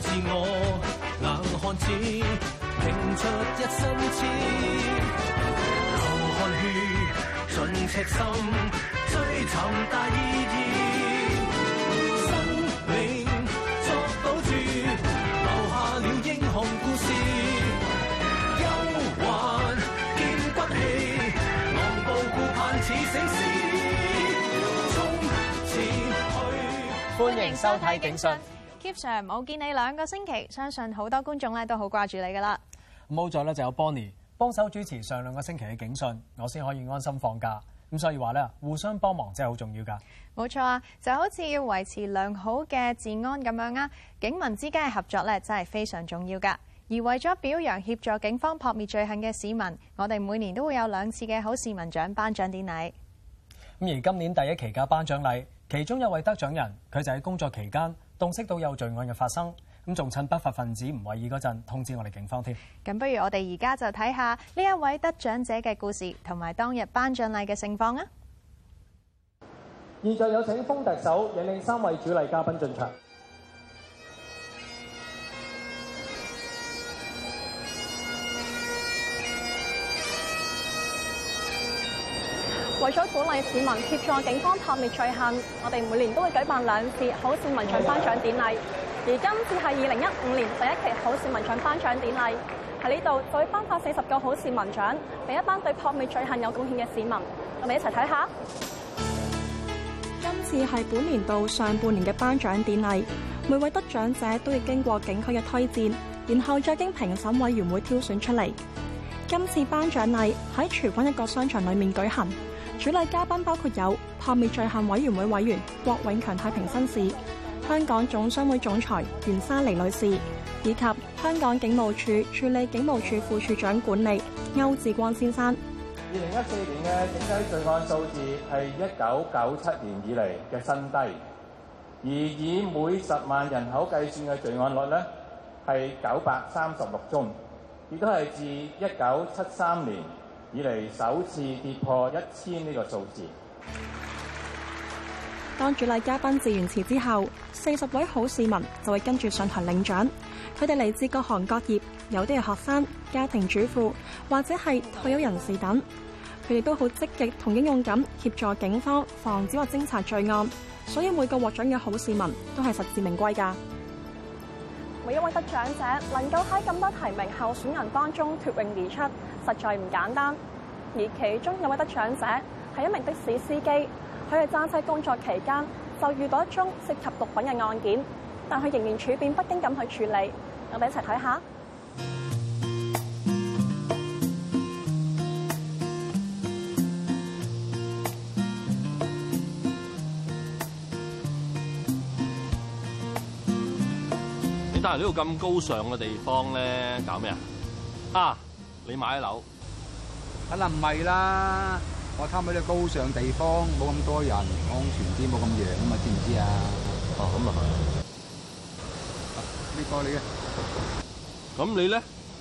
自我，硬漢子拼出一身刺，流汗血盡赤心，追尋大意義，生命作賭注，留下了英雄故事，憂患見骨氣，昂步顧盼似醒獅，衝前去。 歡迎收睇警訊。 Keep Sir 冇見你2個星期，相信好多觀眾咧都好掛住你噶啦。 冇咗咧就有 Bonnie 幫手主持上2個星期嘅警訊，我先可以安心放假。咁所以話咧，互相幫忙真係好重要㗎。 冇錯啊，就好似要維持良好嘅治安咁樣啊，警民之間嘅合作咧真係非常重要㗎。而為咗表揚協助警方撲滅罪行嘅市民，我哋每年都會有2次嘅好市民獎頒獎典禮。 咁而今年第1期嘅頒獎禮，其中有位得獎人，佢就喺工作期間洞悉到有罪案嘅發生，咁仲趁不法分子唔為意嗰陣通知我哋警方添。 咁不如我哋而家就睇下呢一位得獎者嘅故事，同埋當日頒獎禮嘅盛況啊！ 現在有請封特首引領3位主禮嘉賓進場。 為咗鼓勵市民協助警方撲滅罪行，我哋每年都會舉辦2次好市民獎頒獎典禮。而今次係2015年第1期好市民獎頒獎典禮，喺呢度就會頒發40個好市民獎，俾一班對撲滅罪行有貢獻嘅市民。我哋一齊睇下。今次係本年度上半年嘅頒獎典禮，每位得獎者都要經過警區嘅推薦，然後再經評審委員會挑選出嚟。今次頒獎禮喺荃灣一個商場裡面舉行。主禮嘉賓包括有撲滅罪行委員會委員郭永強太平紳士、香港總商會總裁袁莎妮女士，以及香港警務處處理警務處副處長管理歐志光先生。 2014年嘅整體罪案數字係1997年以嚟嘅新低，而以每10萬人口計算嘅罪案率呢係936宗，亦都係自1973年以嚟首次跌破1000呢個數字。 當主禮嘉賓致完詞之後，40位好市民就會跟住上台領獎。佢哋嚟自各行各業，有啲係學生、家庭主婦或者係退休人士等。佢哋都好積極同英勇咁協助警方防止或偵查罪案，所以每個獲獎嘅好市民都係實至名歸㗎。每一位得獎者能夠喺咁多提名候選人當中脫穎而出，實在唔簡單。而其中有位得獎者係一名的士司機，佢喺揸車工作期間就遇到一宗涉及毒品嘅案件，但佢仍然處變不驚咁去處理。我哋一齊睇下。 但係呢度咁高尚嘅地方咧，搞咩啊？啊，你買樓？ 梗係唔係啦！我貪喺呢個高尚地方，冇咁多人，安全啲，冇咁樣啊嘛，知唔知啊？ 哦，咁啊係。 呢個你嘅。 咁你咧？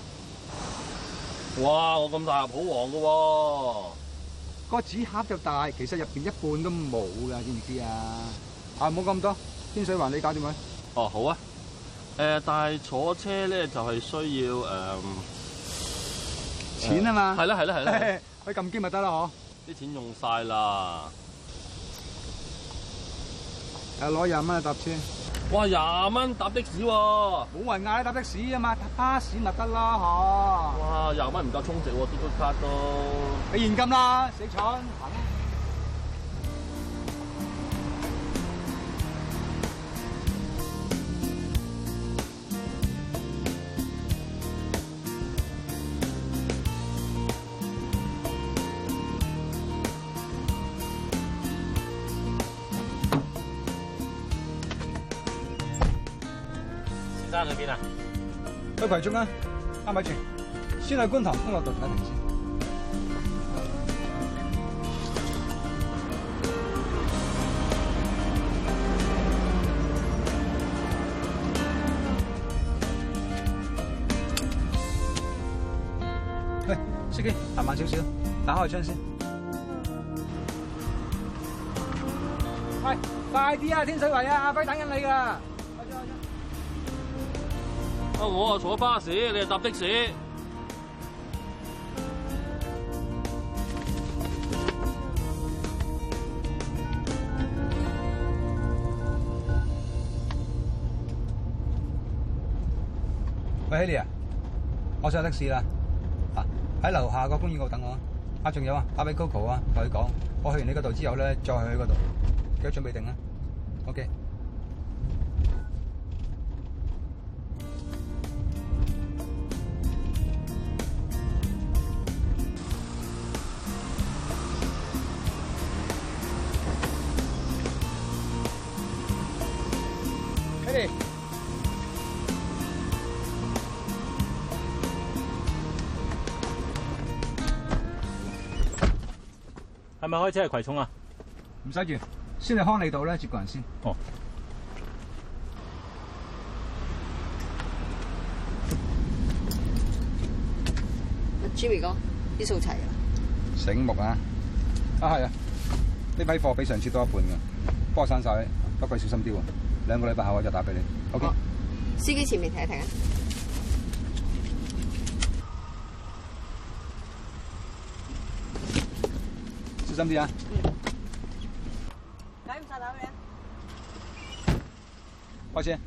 哇！我咁大盒好旺㗎喎。 個紙盒就大，其實入邊一半都冇㗎，知唔知啊？啊，冇咁多，天水環你搞掂佢。 哦，好啊。但係坐車咧就係需要錢啊嘛。 係啦係啦係啦。 去撳機咪得啦嗬。 啲錢用晒啦。 攞20蚊去搭車。 哇！20蚊搭的士喎。 冇人嗌你搭的士啊嘛，搭巴士咪得啦嗬。 哇！20蚊唔夠充值喎，嘟嘟卡都。 俾現金啦，死蠢。 生去邊啊？ 去葵涌啊！咪住，先去觀塘康樂道睇停先。喂，司機，行慢少少，打開窗先。喂，快啲啊！天水圍啊，阿輝等緊你㗎。 我啊坐巴士，你係搭的士。 喂 ，Haley 啊，我上的士啦，喺樓下個公園嗰度等我。仲有啊，打俾 Coco 啊，同佢講，我去完你嗰度之後咧，再去嗰度，記得準備定啦。OK。Haley。 係咪開車去葵涌啊？ 唔使住，先去康利道咧接個人先。 哦。 Jimmy 哥，啲數齊啊！ 醒目啊！係啊，呢批貨比上次多一半㗎，幫我散晒，不過小心啲喎。2個禮拜後我就打俾你。OK。 司機前面停一停啊！ 小心啲啊！ 解唔晒打俾你。 開車。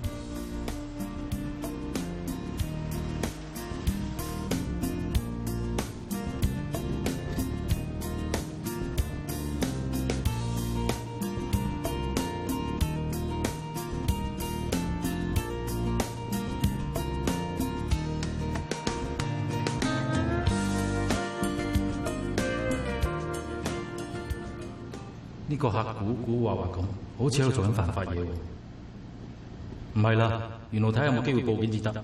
呢個客古話咁，好似喺度做緊犯法嘢喎。唔係啦，原來睇下有冇機會報警至得。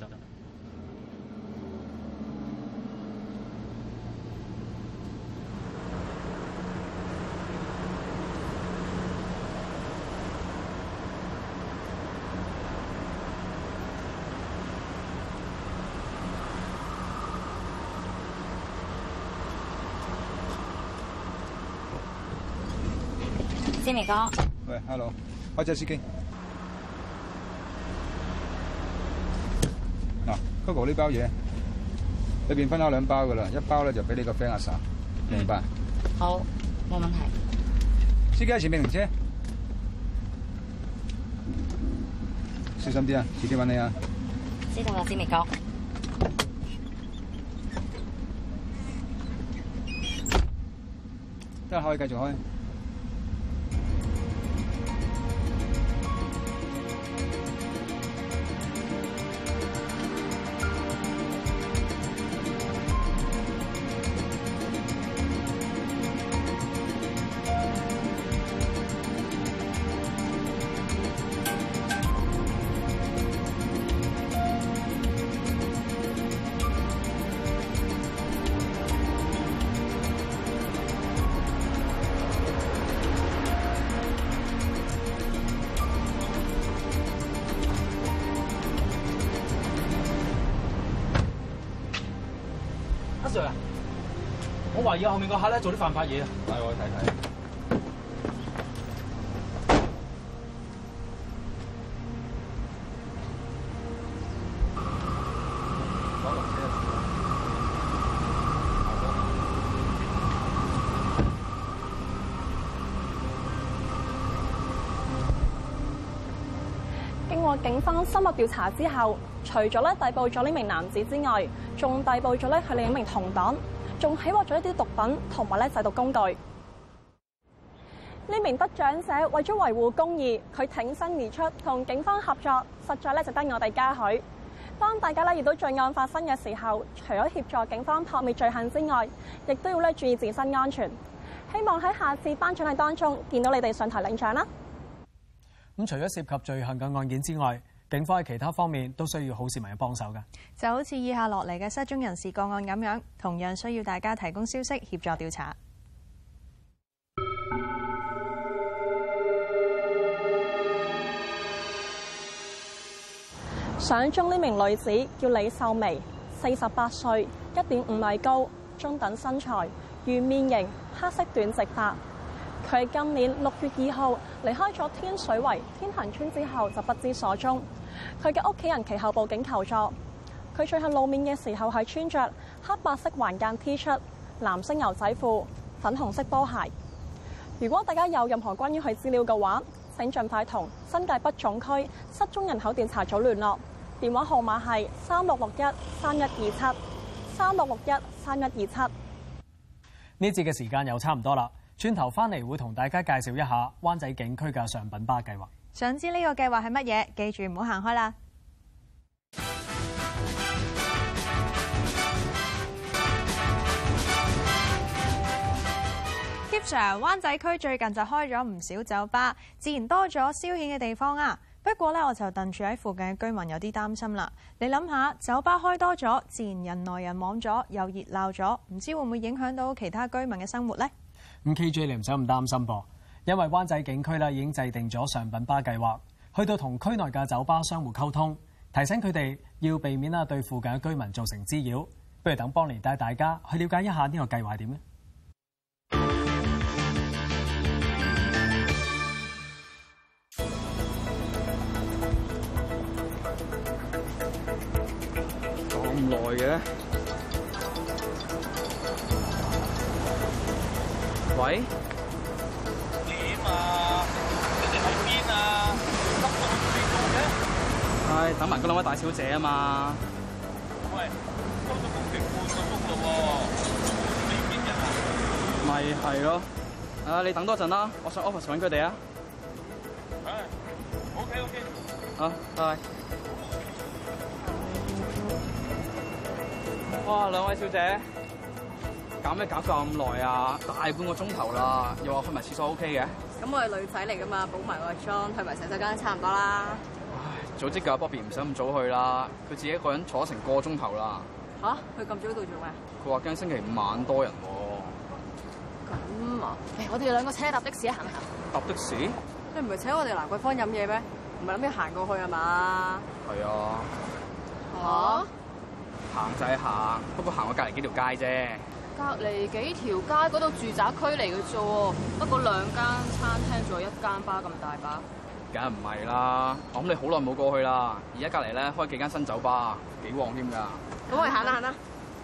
Jimmy 哥， 喂 ，hello， 開車司機。嗱，Coco 呢包嘢，裏邊分開2包噶啦，一包咧就俾你個 friend 阿 Sa，明白？ 好，冇問題。 司機喺前面停車，小心啲啊，遲啲揾你啊。 知道啦，Jimmy 哥。 得可以繼續開。 Sir 啊，我懷疑後面個客咧做啲犯法嘢啊！ 帶我去睇睇。 經過警方深入調查之後，除咗咧逮捕咗呢名男子之外，仲逮捕咗咧佢另一名同黨，仲起獲咗一啲毒品同埋咧製毒工具。呢名得獎者為咗維護公義，佢挺身而出，同警方合作，實在咧值得我哋嘉許。當大家咧遇到罪案發生嘅時候，除咗協助警方撲滅罪行之外，亦都要咧注意自身安全。希望喺下次頒獎禮當中見到你哋上台領獎啦。 咁除咗涉及罪行嘅案件之外，警方喺其他方面都需要好市民嘅幫手㗎。 就好似以下落嚟嘅失蹤人士個案咁樣，同樣需要大家提供消息協助調查。 相中呢名女子叫李秀眉，48歲，1.5米高，中等身材，圓面型，黑色短直髮。佢今年6月2號離開咗天水圍天恒村之後就不知所蹤。 佢嘅屋企人其後報警求助。佢最後露面嘅時候係穿着黑白色橫間 T 恤、藍色牛仔褲、粉紅色波鞋。如果大家有任何關於佢資料嘅話，請盡快同新界北總區失蹤人口調查組聯絡，電話號碼係36613127 36613127。 呢節嘅時間又差唔多啦，轉頭翻嚟會同大家介紹一下灣仔警區嘅上品巴計劃。 想知呢個計劃係乜嘢？記住唔好行開啦！Kip Sir， 灣仔區最近就開咗唔少酒吧，自然多咗消遣嘅地方啊。不過咧，我就戥住喺附近嘅居民有啲擔心啦。你諗下，酒吧開多咗，自然人來人往咗，又熱鬧咗，唔知會唔會影響到其他居民嘅生活呢？ 咁 KJ 你唔使咁擔心噃，因為灣仔警區咧已經制定咗上品巴計劃，去到同區內嘅酒吧商戶溝通，提醒佢哋要避免對附近嘅居民造成滋擾。不如等邦尼帶大家去了解一下呢個計劃係點呢？ 咁耐嘅？喂？ 點啊？你哋喺邊啊？今日未到嘅？ 唉，等埋嗰兩位大小姐啊嘛。 喂，收咗工成半個鐘嘞喎，你邊人啊？ 咪係咯。你等多陣啦，我上 office 揾佢哋啊。 唉 ，OK。 好，拜拜。哇，兩位小姐，搞咩搞咁耐啊？大半個鐘頭啦，又話去埋廁所 OK 嘅？ 咁我係女仔嚟噶嘛，補埋個妝，去埋洗手間差唔多啦。 唉，早知教 Bobby 唔使咁早去啦，佢自己一個人坐成個鐘頭啦。 吓？佢咁早到做咩？ 佢話驚星期五晚多人喎。 咁啊？我哋兩個車搭的士行唔行？ 搭的士？ 你唔係請我哋蘭桂坊飲嘢咩？唔係諗住行過去啊嘛？ 係啊。 嚇？ 行就係行，不過行過隔離幾條街啫。 隔離幾條街嗰度住宅區嚟嘅啫喎，不過2間餐廳仲有1間巴咁大把。 梗係唔係啦，我諗你好耐冇過去啦。而家隔離咧開幾間新酒吧，幾旺添㗎。 咁我哋行啦行啦。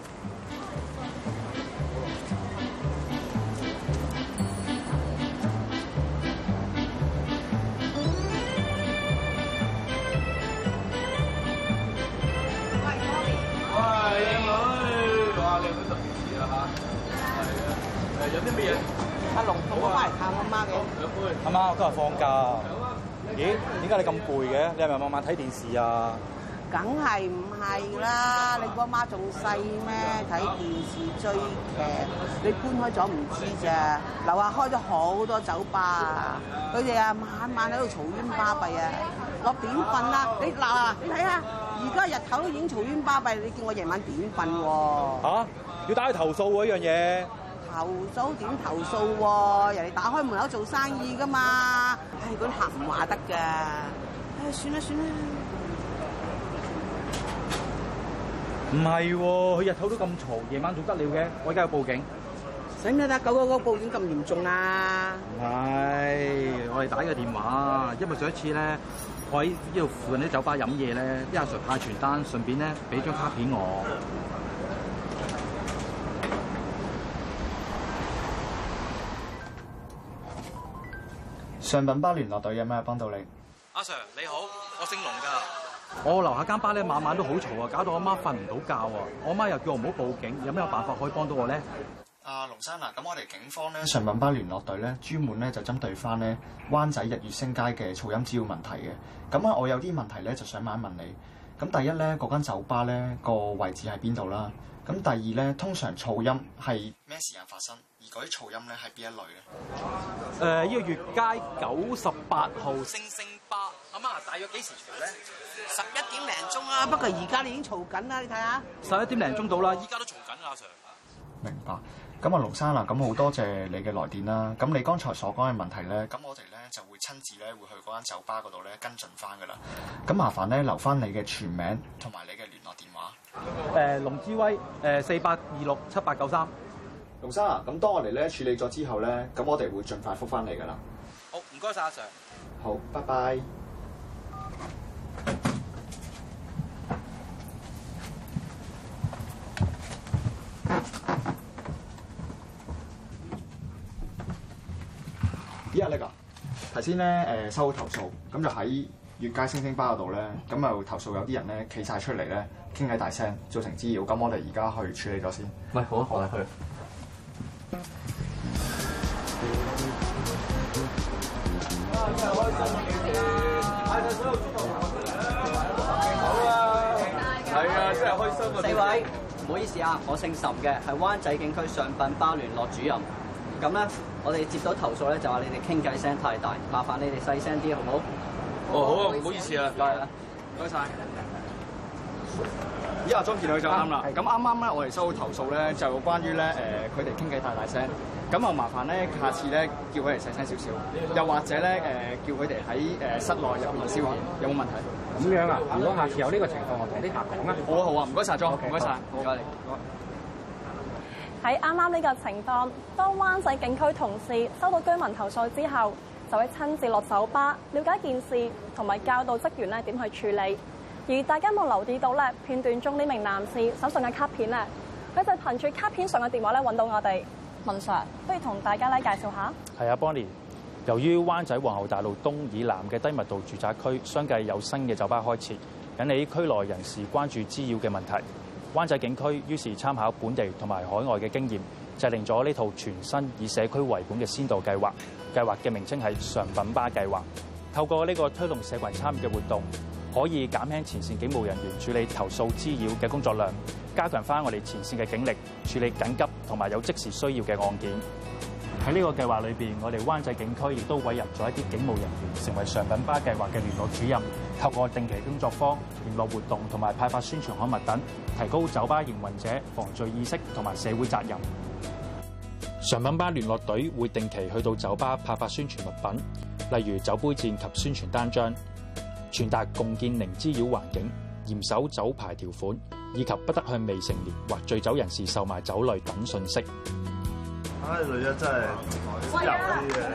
有啲乜嘢？ 阿龍同我翻嚟探我媽嘅。 阿媽，我今日放假。咦？點解你咁攰嘅？你係咪晚晚睇電視啊？ 梗係唔係啦？你估阿媽仲細咩？睇電視追劇，你搬開咗唔知咋？樓下開咗好多酒吧啊！佢哋啊晚晚喺度嘈冤巴閉啊！我點瞓啊？你嗱，你睇下，而家日頭都已經嘈冤巴閉，你叫我夜晚點瞓喎？ 嚇！要打去投訴喎呢樣嘢。 投訴點投訴喎？人哋打開門口做生意噶嘛，唉，嗰啲客唔話得㗎。唉，算啦。 唔係喎，佢日頭都咁嘈，夜晚仲得了嘅。我而家要報警。 使唔使打999報警咁嚴重啊？ 唔係，我哋打個電話，因為上一次咧，我喺呢度附近啲酒吧飲嘢咧，啲阿 Sir 派傳單，順便咧俾張卡片我。 上品巴聯絡隊有咩幫到你？ 阿 Sir 你好，我姓龍㗎。我樓下間巴咧晚晚都好嘈啊，搞到我媽瞓唔到覺啊！我媽又叫我唔好報警，有咩辦法可以幫到我咧？ 龍生啊，咁我哋警方咧上品巴聯絡隊咧專門咧就針對翻咧灣仔日月星街嘅噪音滋擾問題嘅。咁啊，我有啲問題咧就想問一問你。咁第一咧，嗰間酒吧咧個位置喺邊度啦？咁第二咧，通常嘈音係咩時間發生？而嗰啲噪音咧係邊一類咧？ 呢個月街98號星星巴，阿媽大約幾時嘈咧 ？11點零鐘啦，不過而家你已經嘈緊啦，你睇下。 11點零鐘到啦，依家都嘈緊阿 Sir。 明白。咁啊，龍生啊，咁好多謝你嘅來電啦。咁你剛才所講嘅問題咧，咁我哋咧就會親自咧會去嗰間酒吧嗰度咧跟進翻噶啦。咁麻煩咧留翻你嘅全名同埋你嘅聯絡電話。 龍之威48267893。 龍生啊，咁當我哋咧處理咗之後咧，咁我哋會盡快覆翻你噶啦。 好，唔該晒阿 Sir。 好，拜拜。 呢個頭先咧收到投訴，咁就喺月街星星巴嗰度咧，咁就投訴有啲人咧企晒出嚟咧傾偈大聲，造成滋擾。咁我哋而家去處理咗先。 喂，好啊，好啊，去。 係啊，真係開心啊！4位，唔好意思啊，我姓岑嘅，係灣仔警區上品巴聯絡主任。咁咧，我哋接到投訴咧，就話你哋傾偈聲太大，麻煩你哋細聲啲，好唔好？ 哦，好啊，唔好意思啊， 唔該啊， 唔該晒。依阿莊見佢就啱啦。咁啱啱咧，我哋收到投訴咧，就關於咧佢哋傾偈太大聲。咁啊，麻煩咧，下次咧叫佢哋細聲少少，又或者咧叫佢哋喺室內入邊消遣，有冇問題？ 咁樣啊？如果下次有呢個情況，我同啲客講啊。 好啊好啊，唔該晒莊，唔該晒，唔該你。 喺啱啱呢個情況，當灣仔警區同事收到居民投訴之後，就會親自落酒吧了解件事，同埋教導職員咧點去處理。而大家有冇留意到咧？片段中呢名男士手上嘅卡片咧，佢就憑住卡片上嘅電話咧揾到我哋。文 Sir， 不如同大家咧介紹下。 係啊 ，Bonnie。由於灣仔皇后大道東以南嘅低密度住宅區相繼有新嘅酒吧開設，引起區內人士關注滋擾嘅問題。灣仔警區於是參考本地同埋海外嘅經驗，制定咗呢套全新以社區為本嘅先導計劃。計劃嘅名稱係上品巴計劃。透過呢個推動社群參與嘅活動，可以減輕前線警務人員處理投訴滋擾嘅工作量，加強翻我哋前線嘅警力處理緊急同埋有即時需要嘅案件。喺呢個計劃裏邊，我哋灣仔警區亦都委任咗一啲警務人員成為上品巴計劃嘅聯絡主任，透過定期工作坊、聯絡活動同埋派發宣傳刊物等，提高酒吧營運者防罪意識同埋社會責任。上品巴聯絡隊會定期去到酒吧派發宣傳物品，例如酒杯墊及宣傳單張，傳達共建零滋擾環境、嚴守酒牌條款，以及不得向未成年或醉酒人士售賣酒類等信息。 唉，女人真係有啲嘅。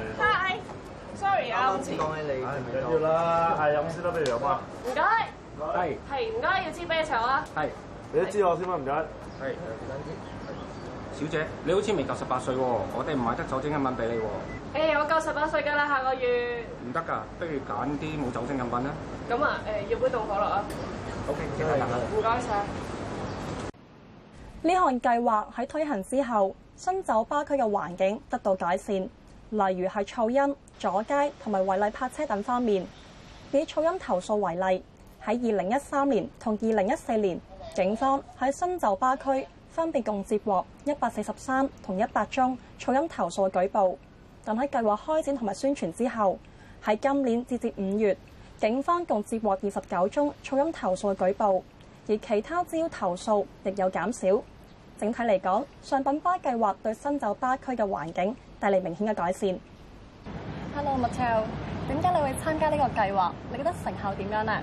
Hi，sorry 啊， 啱先講起你， 唔緊要啦，係飲先啦，不如飲啊。 唔該。係唔該，要支啤酒啊。 係，你都知我先啦，唔該。係， 小姐，你好似未夠18歲喎，我哋唔買得酒精飲品俾你喎。 我夠18歲㗎啦，下個月。 唔得㗎，不如揀啲冇酒精飲品啦。 咁啊，要杯凍可樂啊。 OK， 即刻等啦。 唔該晒。 呢項計劃喺推行之後，新酒吧區嘅環境得到改善，例如係噪音、阻街同埋違例泊車等方面。以噪音投訴為例，喺2013年同2014年，警方喺新酒吧區分別共接獲143同100宗噪音投訴舉報。但喺計劃開展同埋宣傳之後，喺今年截至5月，警方共接獲29宗噪音投訴嘅舉報，而其他滋擾投訴亦有減少。整體嚟講，上品巴計劃對新酒吧區嘅環境帶嚟明顯嘅改善。Hello Mateo， 點解你會參加呢個計劃？你覺得成效點樣呢？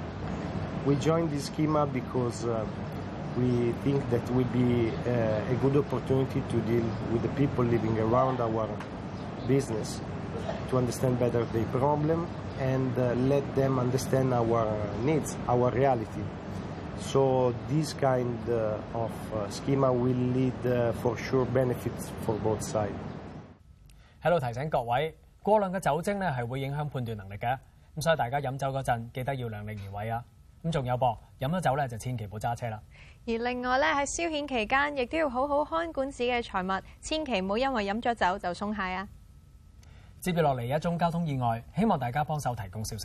We joined this schema because we think that will be a good opportunity to deal with the people living around our business, to understand better their problem and let them understand our needs, our reality. So this kind of schema will lead for sure benefits for both sides. 喺度提醒各位，過量嘅酒精咧係會影響判斷能力嘅，咁所以大家飲酒嗰陣記得要量力而為啊！咁仲有噃，飲咗酒咧就千祈唔好揸車啦。 而另外咧喺消遣期間，亦都要好好看管自己嘅財物，千祈唔好因為飲咗酒就鬆懈啊！ 接住落嚟一宗交通意外，希望大家幫手提供消息。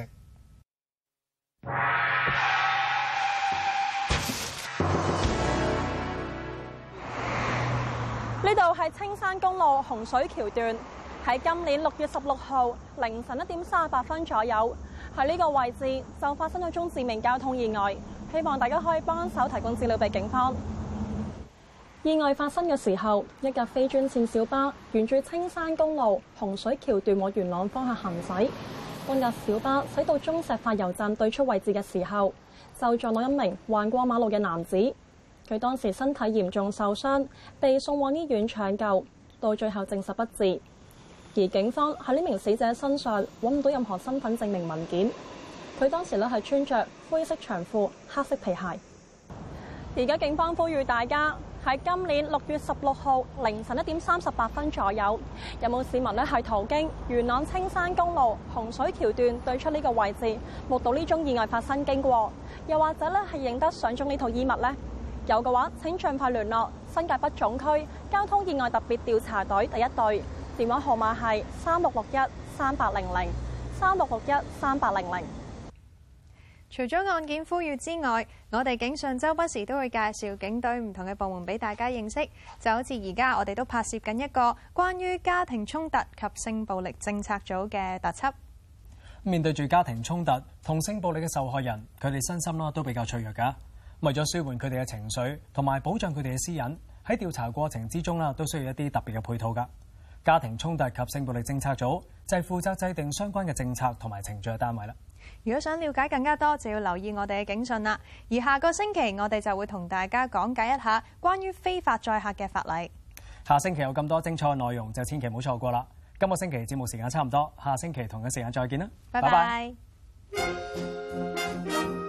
呢度係青山公路洪水橋段，喺今年6月16號凌晨1點38分左右，喺呢個位置就發生咗宗致命交通意外，希望大家可以幫手提供資料俾警方。意外發生嘅時候，一架非專線小巴沿住青山公路洪水橋段往元朗方向行駛，當架小巴駛到中石化油站對出位置嘅時候，就撞到一名橫過馬路嘅男子。佢當時身體嚴重受傷，被送往醫院搶救，到最後證實不治。而警方喺呢名死者身上揾唔到任何身份證明文件。佢當時咧係穿着灰色長褲、黑色皮鞋。而家警方呼籲大家喺今年6月16號凌晨1點38分左右，有冇市民咧係途經元朗青山公路洪水橋段對出呢個位置，目睹呢宗意外發生經過？又或者咧係認得相中呢套衣物呢？有嘅話，請盡快聯絡新界北總區交通意外特別調查隊第1隊，電話號碼係36613800 36613800。 除咗案件呼籲之外，我哋警訊周不時都會介紹警隊唔同嘅部門俾大家認識，就好似而家我哋都拍攝緊一個關於家庭衝突及性暴力政策組嘅特輯。 面對住家庭衝突同性暴力嘅受害人，佢哋身心都比較脆弱㗎。為咗舒緩佢哋嘅情緒同埋保障佢哋嘅私隱，喺調查過程之中都需要一啲特別嘅配套㗎。家庭衝突及性暴力政策組就係負責制定相關嘅政策同埋程序嘅單位啦。 如果想了解更加多，就要留意我哋嘅警訊啦。而下個星期我哋就會同大家講解一下關於非法載客嘅法例。 下星期有咁多精彩嘅內容，就千祈唔好錯過啦。今個星期節目時間差唔多，下星期同一時間再見啦， 拜拜。